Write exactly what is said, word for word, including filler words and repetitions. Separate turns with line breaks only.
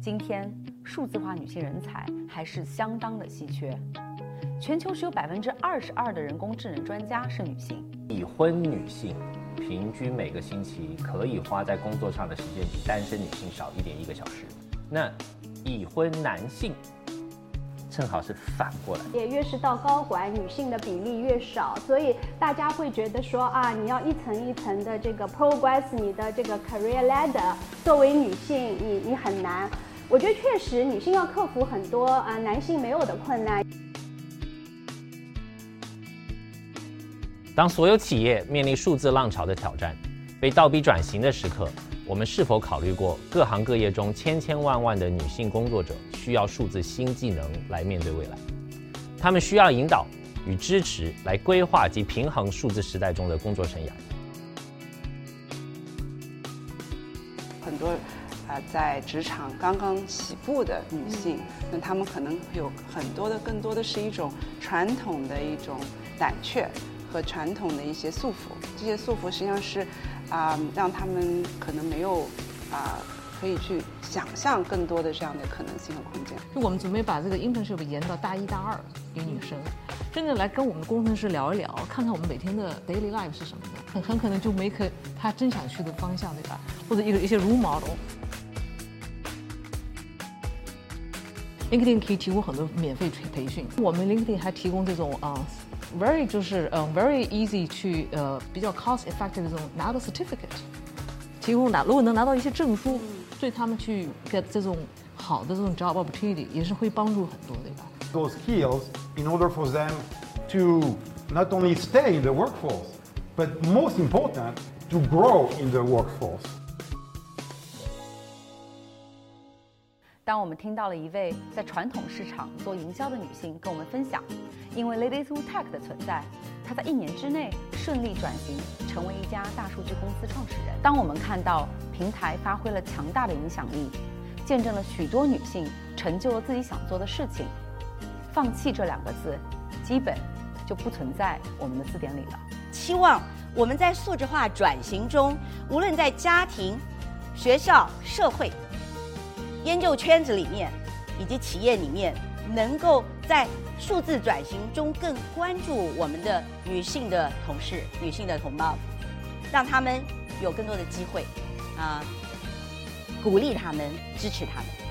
今天数字化女性人才还是相当的稀缺，全球只有百分之二十二的人工智能专家是女性。
已婚女性平均每个星期可以花在工作上的时间比单身女性少一点一个小时。那已婚男性正好是反过来，
也越是到高管，女性的比例越少，所以大家会觉得说啊，你要一层一层的这个 progress 你的这个 career ladder， 作为女性，你你很难。我觉得确实，女性要克服很多啊男性没有的困难。
当所有企业面临数字浪潮的挑战，被倒逼转型的时刻，我们是否考虑过各行各业中千千万万的女性工作者需要数字新技能来面对未来？她们需要引导与支持来规划及平衡数字时代中的工作生涯。
很多呃在职场刚刚起步的女性，那她们可能有很多的更多的是一种传统的一种胆怯和传统的一些束缚，这些束缚实际上是啊、呃、让她们可能没有啊、呃、可以去想象更多的这样的可能性和空间。
就我们准备把这个 internship 延到大一大二给女生，真的来跟我们的工程师聊一聊，看看我们每天的 daily life 是什么的，很很可能就 make 她真想去的方向，对吧？或者一个一些 role model。LinkedIn 可以提供很多免费培训，我们 LinkedIn 还提供这种啊、呃、very 就是呃 very easy 去呃比较 cost effective 的这种拿到 certificate， 提供拿如果能拿到一些证书，对他们去 get 这种好的这种 job opportunity 也是会帮助很多，对吧
？Those skills in order for them to not only stay in the workforce, but most important to grow in the workforce.
当我们听到了一位在传统市场做营销的女性跟我们分享，因为 Ladies Who Tech 的存在，她在一年之内顺利转型成为一家大数据公司创始人。当我们看到平台发挥了强大的影响力，见证了许多女性成就了自己想做的事情，放弃这两个字基本就不存在我们的字典里了。
期望我们在数字化转型中，无论在家庭、学校、社会、研究圈子里面以及企业里面，能够在数字转型中更关注我们的女性的同事、女性的同胞，让他们有更多的机会啊、呃，鼓励他们，支持他们。